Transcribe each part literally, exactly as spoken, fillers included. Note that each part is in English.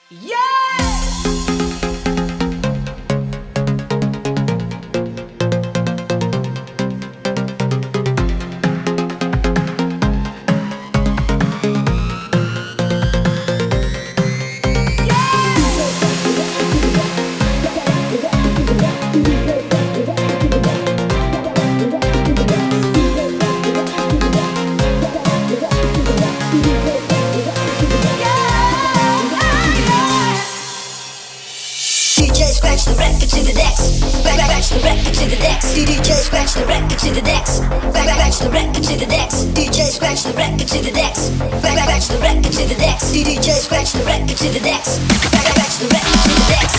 Scratch the record to the decks. Scratch the record to the decks. D J scratch the record to the decks. Scratch the record to the decks. D J scratch the record to the decks. Scratch the record to the decks. D J scratch the record to the decks. Scratch the record to the decks.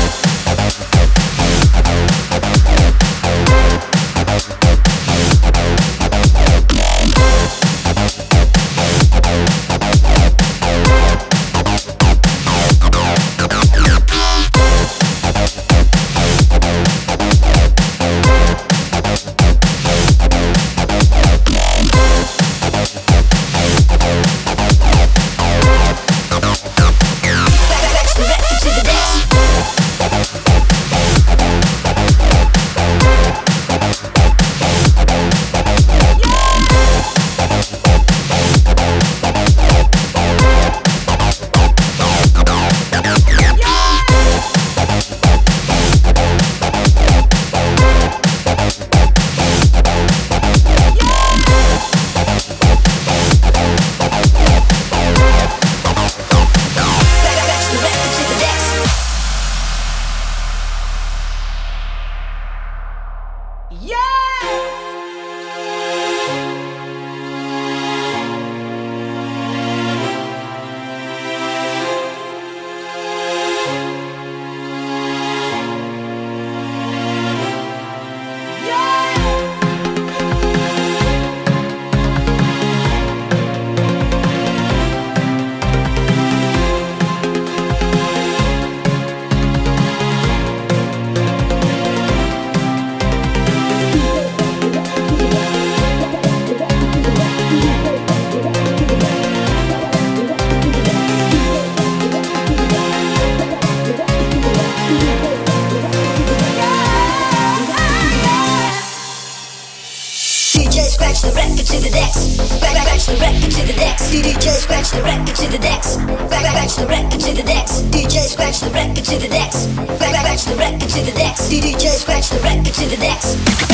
Scratch the record to the decks. Scratch the record to the decks. D J scratch the record to the decks. Scratch the record to the decks. D J scratch the record to the decks. Scratch the record to the decks. D J scratch the record to the decks.